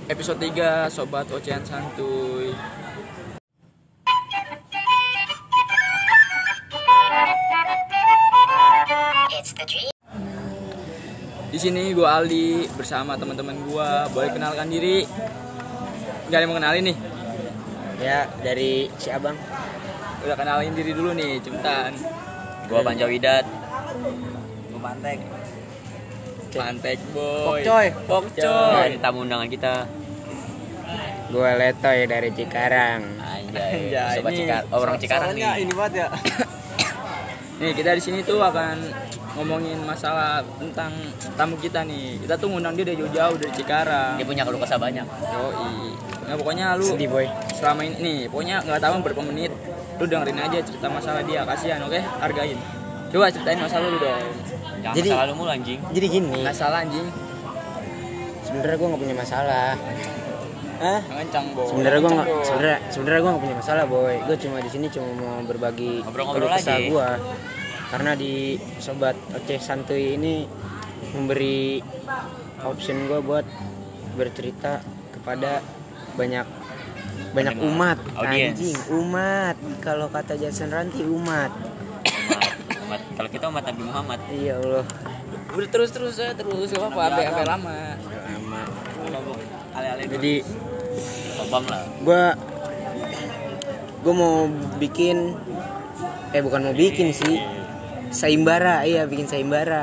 episode 3 Sobat Ocehan Santuy. Di sini gue Aldi bersama teman-teman gue. Boleh kenalkan diri? Gak ada yang mau kenalin nih? Ya, dari si Abang. Udah kenalin diri dulu nih, cepetan. Gua Panjawidat. Gue Pantek. Pantek boy. Pokcoy. Ini tamu undangan kita. Gue Letoy dari Cikarang. Anjay. Anjay, Sobat ini orang Cikarang nih. Ini banget ya. Nih kita di sini tuh akan ngomongin masalah tentang tamu kita nih. Kita tuh ngundang dia dari jauh-jauh dari Cikarang. Dia punya keluh kesah banyak. Yoi. Nah pokoknya lu Sedih boy. selama ini nih, pokoknya nggak tahu berapa menit, lu dengerin aja cerita masalah dia, kasihan, oke? Hargain. Coba ceritain masalah lu dong. Jangan Jadi- masalah lu mulu anjing. Jadi gini, Nggak salah anjing. sebenarnya gue nggak punya masalah. Ngencang boy. Sebenarnya gue nggak, Ngencang, boy. sebenarnya gue nggak punya masalah boy. Gue cuma di sini cuma mau berbagi Ngobrol-ngobrol keluh kesah aja. gue. Karena di Sobat Oceh Santuy ini memberi option gue buat bercerita kepada banyak umat, Audiens. anjing, umat. Kalau kata Jason Ranti umat. Umat. Kalau kita umat Nabi Muhammad. Iya Allah. Udah terus ya, terus gak apa-apa, sampai lama. Lama. Ale-ale. Jadi Obam lah. gue mau bikin, bukan mau bikin sih, sayembara. Iya, bikin sayembara.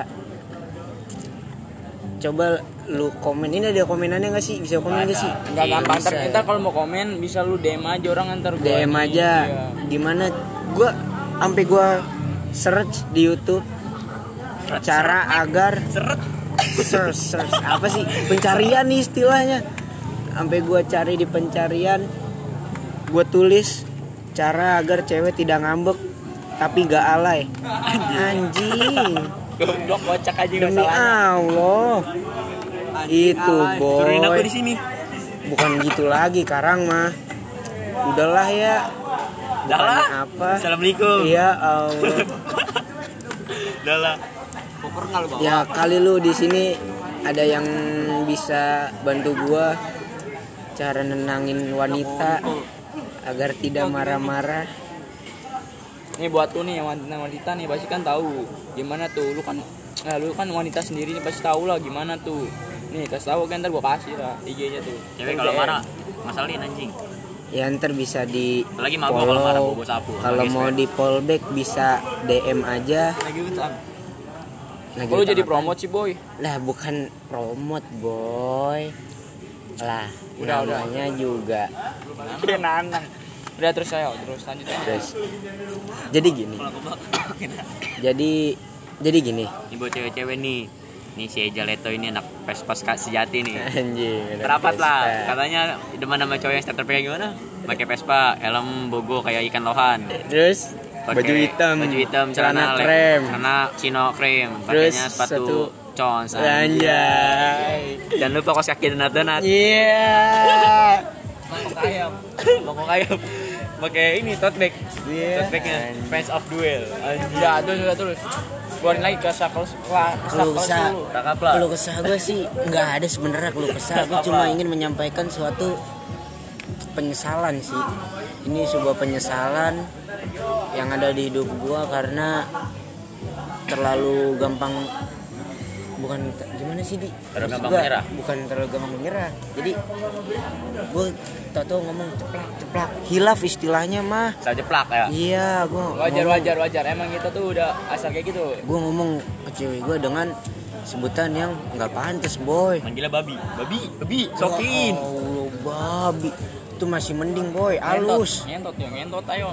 Coba lu komen, ini ada komenannya nggak sih? Bisa komen nggak sih? Nggak gampang, Bisa. ntar kalau mau komen bisa lu DM aja orang ntar gua DM nih. aja. Iya. Gimana? Sampai gue search di YouTube cara agar search apa sih pencarian nih istilahnya. Sampai gue cari di pencarian, gue tulis cara agar cewek tidak ngambek tapi gak alay. Anjing. Goblok kocak aja Demi masalahnya. Allah. Itu Turunin aku boy. di sini. Bukan gitu lagi Karang mah. Udahlah ya. Dah lah. Apa? Assalamualaikum. Ya Allah. Dah lah. Ya kali lu di sini ada yang bisa bantu gua cara nenangin wanita agar tidak marah-marah. Nih buat lu nih yang wanita nih pasti kan tahu gimana tuh, lu kan wanita sendiri nih pasti tahu lah gimana tuh. Nih kasih tahu kan, ntar gua kasih lah IG-nya tuh. Cewek Ntar kalau DM. marah masalahin anjing. Ya ntar bisa di Apalagi mah gua kalau marah bobo sapu. Kalau Lagi mau sweat. di fallback bisa DM aja. Lagi utang. Lagi Lu utang jadi apaan? promote sih boy. Lah bukan promote boy. Lah Udah. namanya juga. Kayak nanang. Udah terus terus lanjut aja. Terus jadi gini. Jadi gini. Ini buat cewek-cewek nih. Nih si Eja Leto ini anak Vespa sejati nih. Anjing. Terapat lah. Katanya demen sama cowok yang starter kayak gimana? Pakai Vespa, helm bogo kayak ikan lohan. Terus Pakai baju hitam, celana lem, krem. celana chino krem, Terus pakainya sepatu satu cons. Anjay. Jangan lupa kaos kaki donat-donat. Iya. Mangkok ayam. Pakai ini tote bag. Iya. Tote bagnya Friends of Duel. Ya terus. Keluarin lagi ke sakos Keluh kesah, Cakep lah. keluh kesah gue sih nggak ada sebenarnya keluh kesah. Gue cuma ingin menyampaikan suatu penyesalan sih. Ini sebuah penyesalan yang ada di hidup gue karena terlalu gampang, bukan gimana sih di Terlalu gampang Gua menyerah? bukan terlalu gampang menyerah. Jadi gue tau ngomong ceplak hilaf istilahnya mah. Saya jeplak ya. Iya, gue wajar. Emang kita tuh udah asal kayak gitu. gue ngomong ke cewek gue dengan sebutan yang nggak pantas boy. Manggilnya babi. Babi, sokin. Ya Allah, babi itu masih mending boy, halus. Ngentot ayo.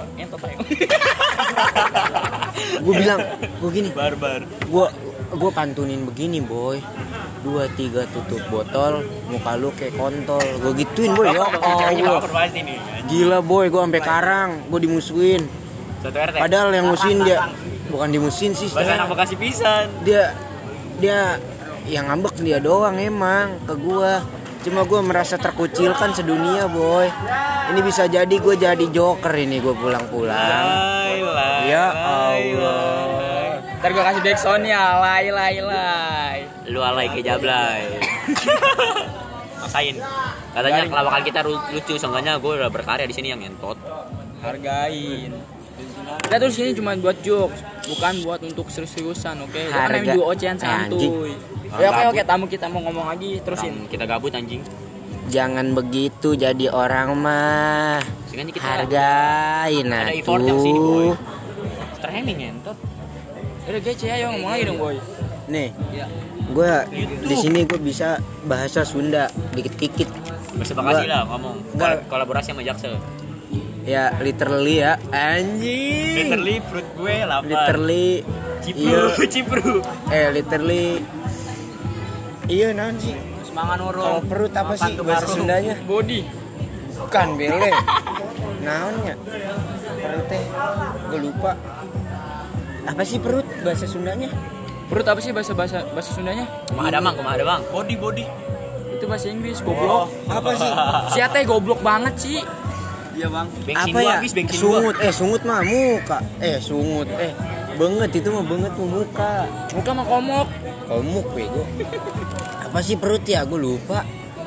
Gue bilang, gue gini, Barbar. gue pantunin begini boy, 2, 3 tutup botol, muka lu kayak kontol, gue gituin boy. Ya Allah, Pasti nih. gila boy, gue sampai Karang, gue dimusuhin. Satu RT. Padahal yang musuhin dia, bukan dimusuhin sih, Bahasa anak Bekasi pisan. dia yang ngambek dia doang emang ke gua. Cuma gua merasa terkucilkan sedunia boy. Ini bisa jadi gue jadi joker ini gue pulang-pulang. Ya Allah. Ntar gue kasih backsound ya, lay. Lu alay ke jablay. maksain. Katanya kelawakan kita lucu, seenggaknya gue udah berkarya di sini yang ngentot. Hargain. Kita tuh sini cuma buat jokes, bukan buat untuk serius-seriusan, oke? Jangan Harga- namanya juga ocehan santuy. Ya oke, tamu kita mau ngomong lagi, terusin. Kita gabut anjing. Jangan begitu jadi orang mah. Sehingga kita Hargain ada effort yang sini, boy. atuh. Streaming ngentot. Udah gece ayo ngomong lagi dong, boy. Nih, Ya. gue di sini gue bisa bahasa Sunda dikit-dikit. Bersepakati lah ngomong. Enggak. Kolaborasi sama Jaksel. Ya literally ya, anjing. Literally fruit gue lapar. Literally, iya. Cipru. Literally, iya naon sih? Semangat Kalau orang. perut apa sih bahasa Sundanya? Body. Bukan bele. Naonnya? Perut teh, gue lupa. Apa sih perut bahasa Sundanya? Perut apa sih bahasa Sundanya? Kumaha ada bang. Body. Itu bahasa Inggris, goblok. Apa sih? Siate goblok banget sih. Iya bang. Bensin Apa gua ya? habis, bensin Sungut, sungut mah muka. Sungut, benget itu mah benget mah muka. Muka mah komok. Komuk bego. Apa sih perut ya? Gue lupa.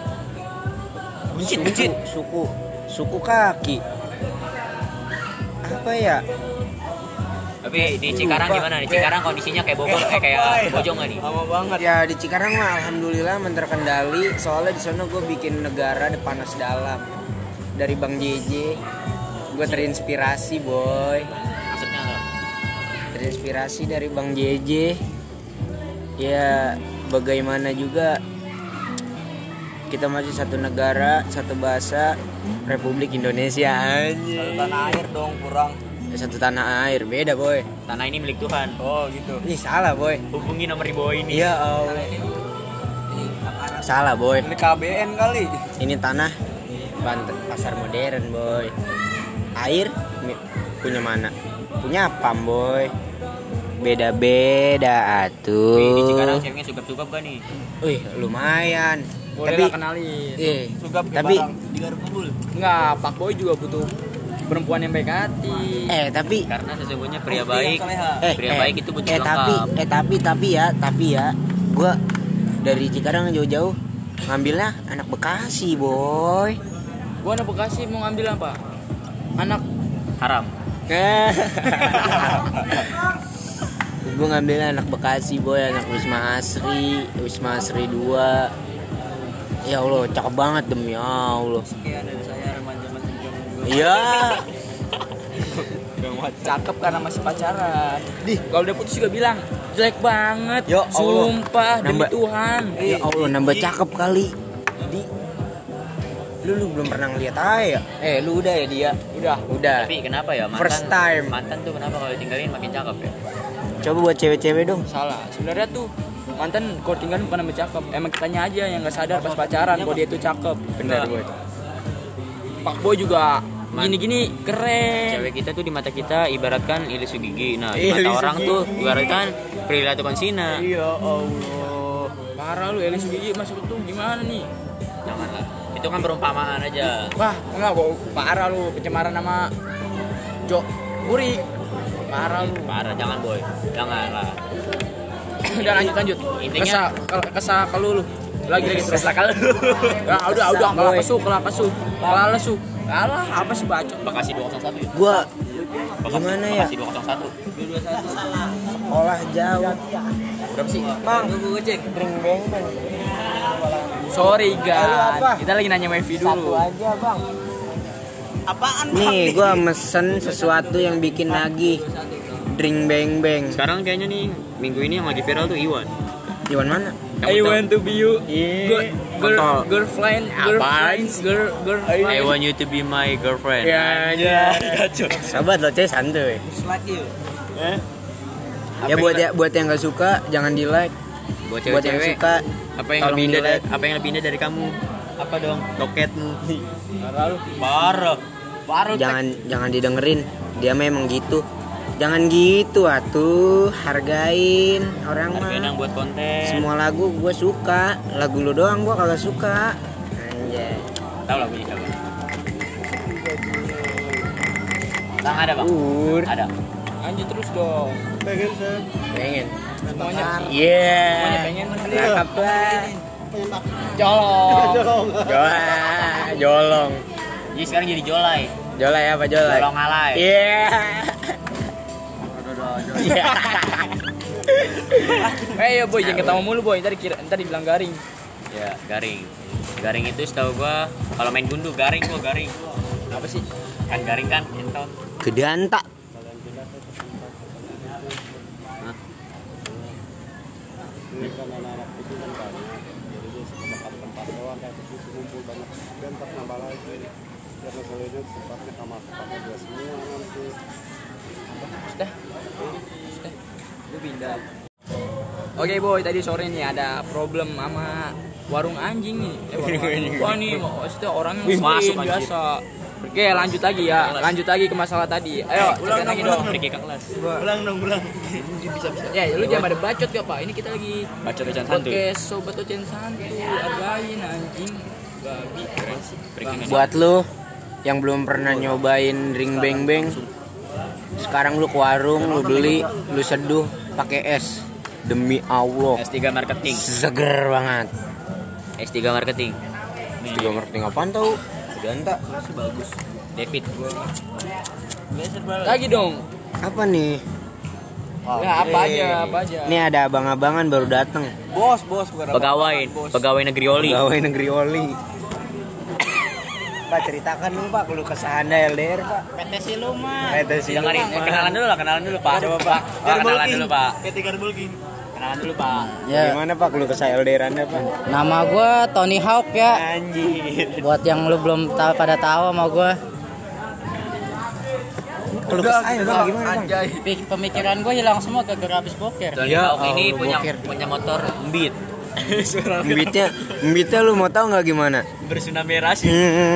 Buncit. Suku kaki. Apa ya? Tapi di Cikarang gimana? Di Cikarang kondisinya kayak Bogor, kayak Bojong nggak nih? Lama banget. Ya di Cikarang mah alhamdulillah terkendali. Soalnya di sana gue bikin negara di panas dalam. Dari Bang JJ, gue terinspirasi boy. Maksudnya nggak? Terinspirasi dari Bang JJ. Ya bagaimana juga kita masih satu negara, satu bahasa, Republik Indonesia anjing. Tanah air dong kurang. Satu tanah air, beda boy. Tanah ini milik Tuhan. Oh gitu. Ini salah boy. Hubungi nomor di bawah ini. Iya Allah. Salah boy. Ini KBN kali. Ini tanah Banten, pasar modern boy. Air punya mana? Punya Pam boy. Beda-beda Wih, di Cikarang atuh. ceweknya sugap-sugap kan nih? Wih, lumayan. Boleh Tapi lah kenalin. Sugap ke tapi barang. Digaruk kumpul. Enggak, Pak Boy juga butuh perempuan yang baik hati. tapi Karena sesungguhnya pria baik, pria baik itu butuh tapi ya, gua dari Cikarang jauh-jauh ngambilnya anak Bekasi boy. Gua anak Bekasi mau ngambil apa? Anak haram. Gue ngambilnya anak Bekasi boy, anak Wisma Asri 2. Ya Allah, cakep banget demi Allah. sekian dari saya remaja masih jomblo. Iya. Cakep karena masih pacaran. Kalau udah putus juga bilang jelek banget. Ya Allah. Sumpah demi Nambah- Tuhan. Ya Allah, nambah cakep kali. Lu belum pernah ngeliat aja ya? Lu udah ya dia? Udah. Tapi kenapa ya mantan? First time. Mantan tuh kenapa kalau ditinggalin makin cakep ya? Coba buat cewek-cewek dong. Salah. Sebenarnya tuh mantan kalau tinggal bukan nambah cakep. Emang kitanya aja yang nggak sadar pas pacaran kalau dia tuh cakep. Bener boy. Pak Boy juga gini-gini keren. Cewek kita tuh di mata kita ibaratkan Ilisu Gigi. Nah, di Ilisu mata orang Gigi. tuh ibaratkan Prilly Latuconsina. Ya Allah. Parah lu Elis Gigi masuk tuh gimana nih? Janganlah. Itu kan perumpamaan aja. Wah, enggak kok parah lu pencemaran nama Jo Uri. Parah lu. Parah, jangan boy. Janganlah. Udah lanjut. Intinya- kesah kalau lu. Lagi terus. Kesakal. Ya udah kalah lesu. Kalah apa sih bacot? Bekasi 201 ya? Gua gimana ya? Bekasi 201. Sekolah jauh. Berapa sih? Bang, gue cek. Ring beng bang. Sorry Lu guys. apa? Kita lagi nanya wifi Satu dulu. aja bang. Apaan? Nih, gua mesen sesuatu yang bikin nagih. Drink beng beng. Sekarang kayaknya nih minggu ini yang lagi viral tuh Iwan. Iwan mana? Kamu I tahu? want to be you. Iya. Girlfriend. I want you to be my girlfriend. Ya. Sahabat lo cek santuy. Ya buat yang nggak suka jangan di like. Buat Buat yang cewek-cewek, suka apa yang tolong lebih indah di-like. apa yang lebih indah dari kamu? Apa dong? Loketmu. Parah lu. Parah. jangan didengerin. Dia memang gitu. Jangan gitu atuh, hargain orang mah. Hargain yang buat konten. Semua lagu gue suka, lagu lu doang gue kagak suka. Anjay. Tahu lagunya siapa? Bang ada bang? Ada. Lanjut terus dong. Pengen. Semuanya. Iya. Semuanya pengen. Cakep lah. Jolong. Jolong. Jadi sekarang jadi Jolai. Jolai apa Jolai? Jolong alay. Iya. Iya. Ya boy, jangan ketawa mulu boy, ntar dibilang garing. Ya, garing. Garing itu setahu gua kalau main gundu garing gua garing. Apa sih? Kan garing kan entot. Gedanta. Ini kan anak-anak itu kan banyak, jadi dia sepakat tempat doang kayak begitu kumpul banyak dan tak nambah lagi karena soalnya tempatnya kamar-kamarnya dia semua nanti. Sudah. Gue pindah. Oke boy, tadi sore nih ada problem sama warung anjing nih. Warung anjing. Wah nih, maksudnya orang yang masuk biasa. Oke, lanjut lagi ya. Lanjut lagi ke masalah tadi. Ayo, ulang lagi dong. Pergi ke kelas. Ulang. Bisa. Ya, lu jangan pada bacot ya, Pak. Ini kita lagi Baca Ocen Santuy. podcast Sobat Ocen Santuy. Hargain anjing. Babi. Buat lu yang belum pernah nyobain ring beng beng, sekarang lu ke warung, lu beli, lu seduh pakai es. Demi Allah, S3 marketing. seger banget. S3 marketing. Tiga marketing apaan tau? Gedanta. Bagus. David. Lagi dong. Apa nih? Ya, apa aja. Ini ada abang-abangan baru datang. Bos, bukan Pegawai negeri oli. Pegawai negeri oli. Pak, ceritakan dong Pak, kalau kesah Anda LDR Pak. PT Siluman. Dengerin, kenalan dulu Pak. Coba Pak. Kenalan dulu Pak. Ketika Bulgin. Kenalan dulu Pak. Ya, Gimana Pak, kalau kesah LDR Anda Pak? nama gue Tony Hawk ya. Anjir. Buat yang lu belum pada tahu sama gue, Kalau kesah Bang, gimana Bang? Anjay. pemikiran gue hilang semua gara-gara habis boker. Tony Ya, Hawk ini Allah, punya motor Beat. Mbitnya lu mau tahu nggak gimana? Bertsunami rasi.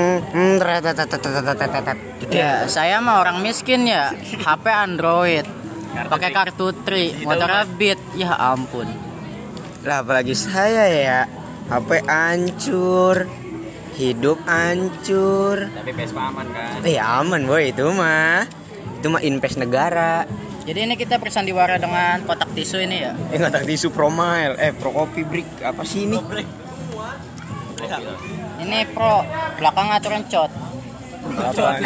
Ya, saya mah orang miskin ya, HP Android, pakai kartu Tri, motornya Beat, ya ampun. Lah apalagi saya ya, HP hancur, hidup hancur. Tapi Vespa aman kan? Aman boy, itu mah invest negara. Jadi ini kita bersandiwara dengan kotak tisu ini ya. Ngotak tisu Promile, Pro Coffee Brick, apa sih ini? Ini Pro, belakang aturan cot. Apaan?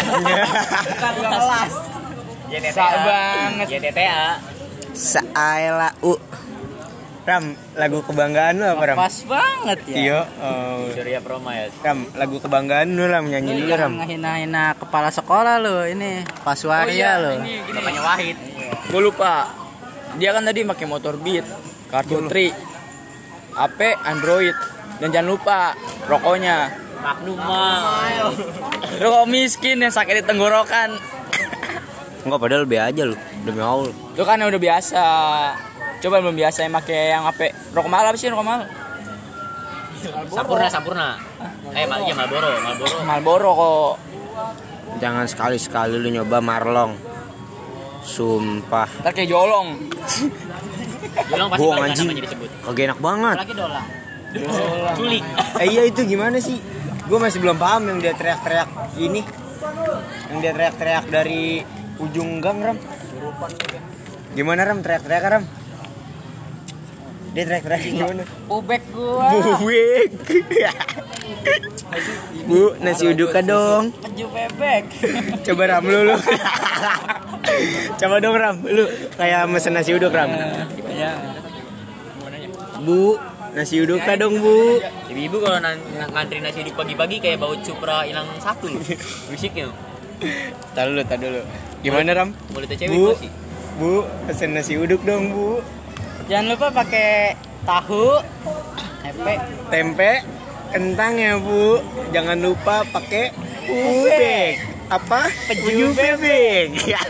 Sak banget. JTTA. Saela Ram, lagu kebanggaan lu apa Ram? Pas banget ya. Iya, Surya Promile. Ram, lagu kebanggaan lu Ram, nyanyi Lu dulu Ram. jangan ngehina-hina kepala sekolah lu, ini Pak Suarya lu. Bapaknya Wahid. Gue lupa. Dia kan tadi pakai motor Beat, kartu Tri, HP Android, dan jangan lupa rokoknya. Magnum Mile. Rokok miskin yang sakit di tenggorokan. Enggak, padahal be aja lu, demi Allah. Itu kan udah biasa. Coba belum biasa yang pakai yang HP. Rokok mahal apa sih rokok mahal? Sampurna. Iya Marlboro. Marlboro kok. Jangan sekali-sekali lu nyoba Marlong. Sumpah. Ntar kayak jolong. Jolong pasti Bohong balik anjing. namanya disebut. Kagak enak banget. Lagi dolang. Culik. Iya itu gimana sih? Gue masih belum paham yang dia teriak-teriak ini. Yang dia teriak-teriak dari ujung gang Ram. Gimana Ram teriak-teriak Ram? Dia teriak-teriak gimana? Ubek gua. Buwek. Bu, nasi uduk dong. Keju bebek. Coba Ram lu. Coba dong Ram, lu kayak mesen nasi uduk Ram. Bu, nasi uduk dong Bu. Ibu kalau ngantri nasi uduk pagi-pagi kayak bau cupra hilang satu loh. Musiknya. Tar dulu. Gimana Ram? Mulutnya cewek Bu, gua sih. Bu, pesen nasi uduk dong Bu. Jangan lupa pakai tahu, Tempe, kentang ya Bu. Jangan lupa pakai ubek. Apa? Peju bebek.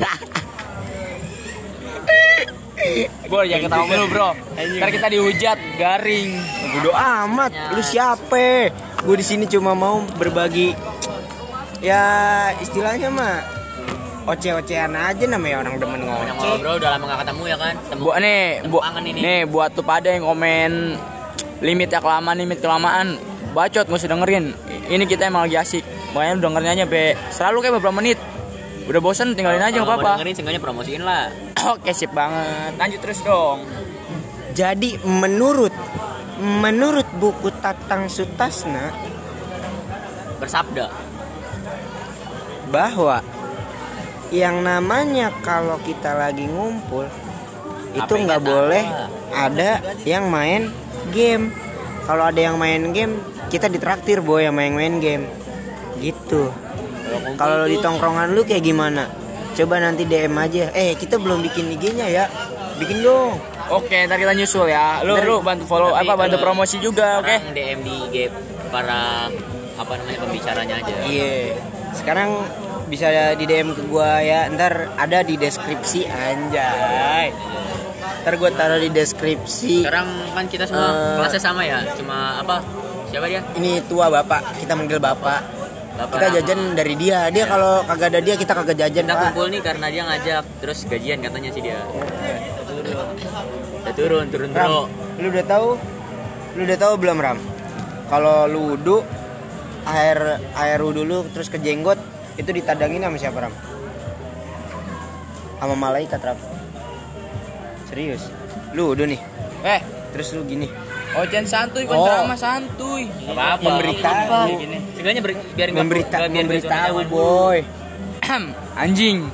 Bro, jangan ketawa mulu bro. Ntar kita dihujat, garing. Bodo amat, lu siapa? Gue di sini cuma mau berbagi. Ya istilahnya mah oceh-ocehan aja, namanya orang demen Banyak ngoceh. ngobrol udah lama gak ketemu ya kan. Buat kangen ini. nih buat tuh pada yang komen limit kelamaan. Bacot, gak usah dengerin. Ini kita emang lagi asik. Makanya lu dengernya aja selalu kayak beberapa menit. Udah bosen tinggalin aja Kalau gak mau apa-apa. dengerin seenggaknya promosiin lah. Oke, sip banget. Lanjut terus dong. Jadi menurut menurut buku Tatang Sutasna Bersabda. bahwa yang namanya kalau kita lagi ngumpul itu HP-nya nggak boleh taruh. ada yang main game. Kalau ada yang main game kita ditraktir boy yang main game gitu. Kalau di tongkrongan lu kayak gimana? Coba nanti DM aja. Kita belum bikin IG-nya ya. Bikin dong. Oke, ntar kita nyusul ya. Lu bantu follow Tapi bantu kalau promosi juga, oke? sekarang DM di IG para pembicaranya aja. Iya. Sekarang bisa di DM ke gua ya. Ntar ada di deskripsi anjay. Ntar gua taruh di deskripsi. Sekarang kan kita semua kelasnya sama ya. Cuma siapa dia? Ini tua bapak. Kita manggil bapak. Bapak Kita Rama. jajan dari dia. Dia kalau kagak ada dia kita kagak jajan, Kita Pak. kumpul nih karena dia ngajak. Terus gajian katanya sih dia. Udah turun Ram, bro. lu udah tahu belum Ram? Kalau lu wudu air wudu lu terus ke jenggot itu ditadangin sama siapa Ram? Sama malaikat Ram. Serius. Lu wudu nih. Terus lu gini. Oh, jangan santuy, kan Oh. ceramah santuy. Gak apa-apa. Memberitahu. Seenggaknya biar nggak Memberitahu boy. Anjing.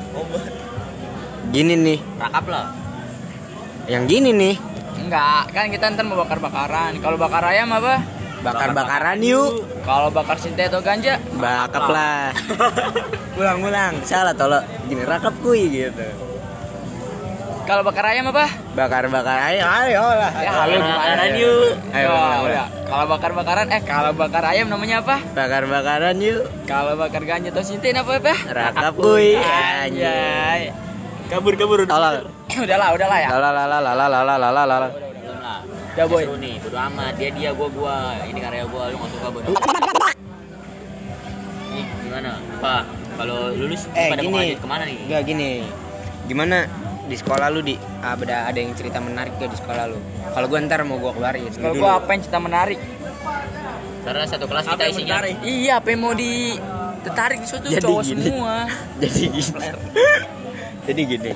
Gini nih. Rakap lah. Yang gini nih. Enggak, kan kita ntar mau bakar-bakaran. Kalau bakar ayam apa? Bakar-bakaran yuk. Kalau bakar sinte atau ganja? Bakap lah. Ulang. Salah tolong. Gini rakap kuy gitu. Kalau bakar ayam apa? Bakar-bakar ayo lah. Ya, halo gimana? Bakaran yuk. Ayo, Oh, ulang. ya. Kalau bakar-bakaran kalau bakar ayam namanya apa? Bakar-bakaran yuk. Kalau bakar ganja atau sintin apa? Rakap kuy. Anjay. Kabur. Tolol. Udahlah ya. Lalalalalalalalalala. Belum lah. Ya, boy. Seru nih, bodo amat. Dia, gua. Ini karya gua, lu nggak suka bodo. Nih, gimana? Pak, kalau lulus pada mau Gini. lanjut kemana nih? Enggak gini. Gimana di sekolah lu di ada yang cerita menarik gak di sekolah lu? Kalau gua ntar mau gua keluarin. Kalau gua apa yang cerita menarik? Karena satu kelas kita isinya. Iya, apa yang mau ditarik di situ Jadi cowok gini. semua. Jadi gini.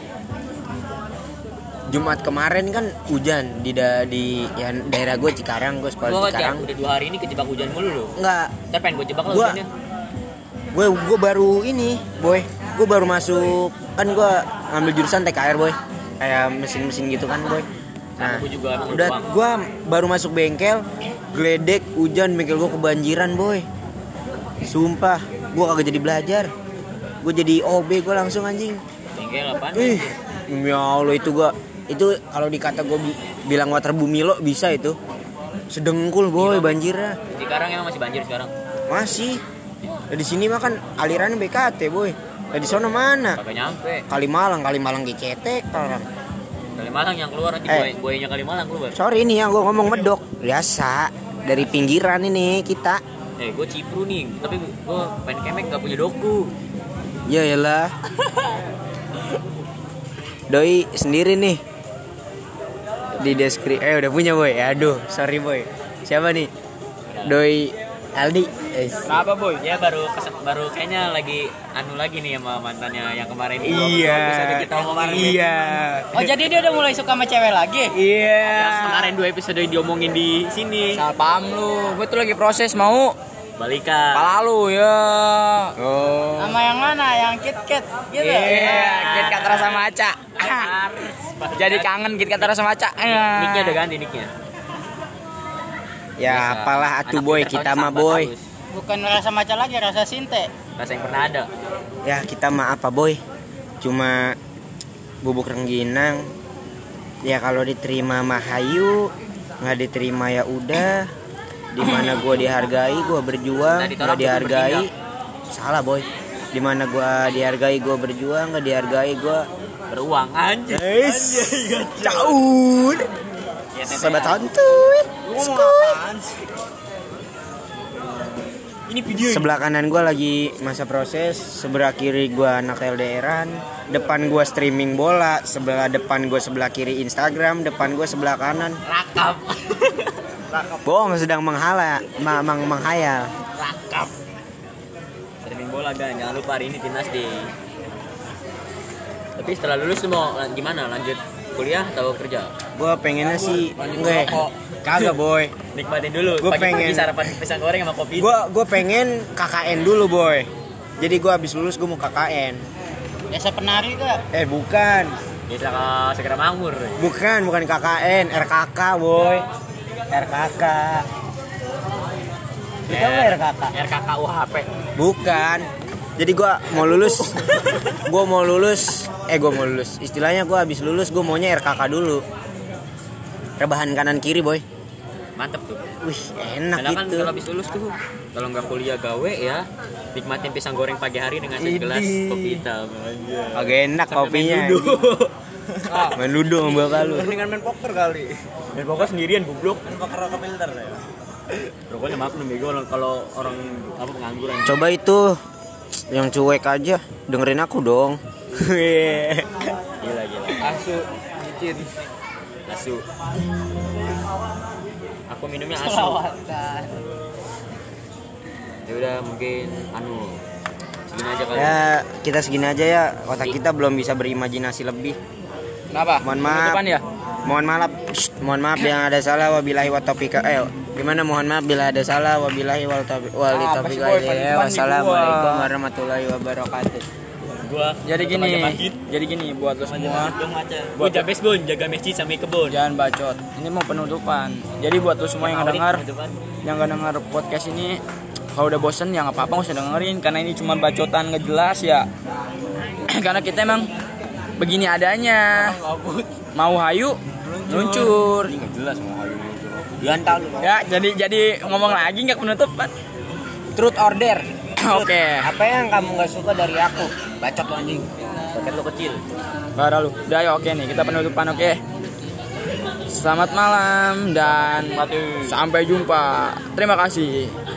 Jumat kemarin kan hujan di ya, daerah gue Cikarang, gue sekolah di Gua Cikarang. udah 2 hari ini kejebak hujan mulu loh. Enggak, Ntar pengen gua jebak lah Gua- hujannya. gue baru ini, boy. Gue baru masuk kan gue ngambil jurusan TKR, boy. Kayak mesin-mesin gitu kan, boy. Nah, Gua juga emang udah doang. gue baru masuk bengkel, geledek hujan, bengkel gue kebanjiran, boy. Sumpah, gue kagak jadi belajar. Gue jadi OB gue langsung anjing. Bengkel apaan? Ya Allah itu kalau dikata gue bilang waterbumi lo bisa itu. Sedengkul boy banjirnya. Sekarang emang masih banjir sekarang. Masih. Nah, di sini mah kan alirannya BKT boy. Nah, di sono mana? Kagak nyampe. Kalimalang gecetek orang. Kalimalang yang keluar nanti buayanya Kalimalang keluar. Sorry nih ya gue ngomong medok. Biasa dari pinggiran ini kita. Gue Cipru nih, tapi gue pengen kemek gak punya doku. Ya iyalah. Doi sendiri nih. Di deskripsi udah punya boy. Aduh, sorry boy. Siapa nih? Doi Aldi. Kenapa, boy? Dia baru kayaknya lagi lagi nih sama mantannya yang kemarin. Iya. Bagus ada kita omongin. Iya. Oh, jadi dia udah mulai suka sama cewek lagi? Iya. Yang kemarin 2 episode diomongin di sini. Salah paham lu. Gue tuh lagi proses mau Balikan. pala lu ya. Oh. Sama yang mana? Yang KitKat gitu? Iya, KitKat rasa maca. Jadi kangen KitKat rasa maca. Nicknya udah ganti nicknya. Ya apalah atuh boy, kita mah boy. Bukan rasa maca lagi, rasa sinte. Rasa yang pernah ada. Ya kita mah apa boy? Cuma bubuk rengginang. Ya kalau diterima mah hayu, nggak diterima ya udah. Dimana gua dihargai, gua berjuang. Nah, ditolak Nggak dihargai, tuh salah boy. Dimana gua dihargai, gua berjuang. Nggak dihargai, gua Beruang anjir. caur. Ya, Sobat santuy. Ini video Sebelah kanan gue lagi masa proses, sebelah kiri gue anak LDRan, depan gue streaming bola, sebelah depan gue sebelah kiri Instagram, depan gue sebelah kanan. rakap. Bohong sedang menghayal. Rakap. Streaming bola gan, jangan lupa hari ini timnas deh. Tapi setelah lulus lu mau gimana lanjut kuliah atau kerja? Gue pengennya sih enggak. Kagak boy. Nikmatin dulu. Gua Pagi-pagi pengen- sarapan pisang goreng sama kopi. Gue pengen KKN dulu boy. Jadi gue habis lulus gue mau KKN. Desa penari gak? Bukan. Bisa ke segera makmur. Bukan KKN, RKK boy. RKK. Kita nggak RKK? RKK UHP. Bukan. Jadi gue mau lulus. Istilahnya gue habis lulus gue maunya RKK dulu. Rebahan kanan kiri boy. Mantep tuh. Wih enak Karena kan gitu. kalau habis lulus tuh, kalau nggak kuliah gawe ya, nikmatin pisang goreng pagi hari dengan segelas Idih. kopi hitam. Anjay. Agak enak Sampai kopinya. main ludo. Main ludo sama bapak lu. Mendingan main poker kali. Dan pokoknya sendirian goblok. Main poker rokok filter ya. Pokoknya maaf nih bego kalau orang apa pengangguran. Coba itu yang cuek aja dengerin aku dong. Gila. Asu micin. Asu. Aku minumnya asu. Selawatan. Ya udah mungkin segini aja kali. Ya kita segini aja ya. Otak kita belum bisa berimajinasi lebih. Kenapa? Mohon maaf. Penutupan ya? Mohon maaf yang ada salah wabillahi wa taufiq. Gimana mohon maaf bila ada salah wabillahi wal taufiq. Apa sih, Boy? Penutupan nih Wassalamualaikum gua. warahmatullahi wabarakatuh. Gua Jadi gini buat lo semua. Buat jaga baseball, jaga masjid sampai kebun. Jangan bacot. Ini mau penutupan. Jadi buat lo semua yang dengar, Penutupan. yang gak dengar podcast ini, kalau udah bosen ya nggak apa-apa nggak usah dengerin karena ini cuma bacotan nggak jelas ya. Karena kita emang begini adanya. Mau hayu luncur. Enggak jelas mau hayu. Gantang. Ya jadi ngomong lagi nggak penutupan. Truth order. Oke. Apa yang kamu nggak suka dari aku? Bacot lo anjing. Paket lo kecil. Parah lu. Udah ya oke nih kita penutupan oke. Selamat malam dan sampai jumpa. Terima kasih.